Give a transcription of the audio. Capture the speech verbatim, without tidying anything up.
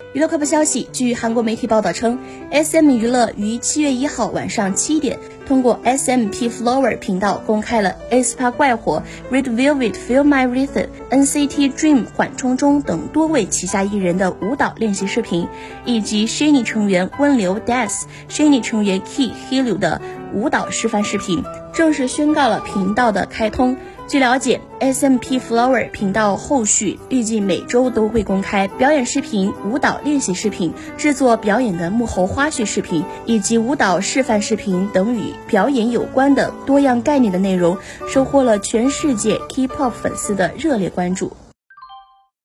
娱乐快报消息，据韩国媒体报道称 ，S M 娱乐于七月一号晚上七点通过 S M P Flower 频道公开了 aespa 怪火、Red Velvet Feel My Rhythm、N C T Dream 缓冲中等多位旗下艺人的舞蹈练习视频，以及 SHINee 成员温流 Death、SHINee 成员 Key Hillyu 的舞蹈示范视频，正式宣告了频道的开通。据了解 ，S M P Flower 频道后续预计每周都会公开表演视频、舞蹈练习视频、制作表演的幕后花絮视频，以及舞蹈示范视频等与表演有关的多样概念的内容，收获了全世界 K-pop 粉丝的热烈关注。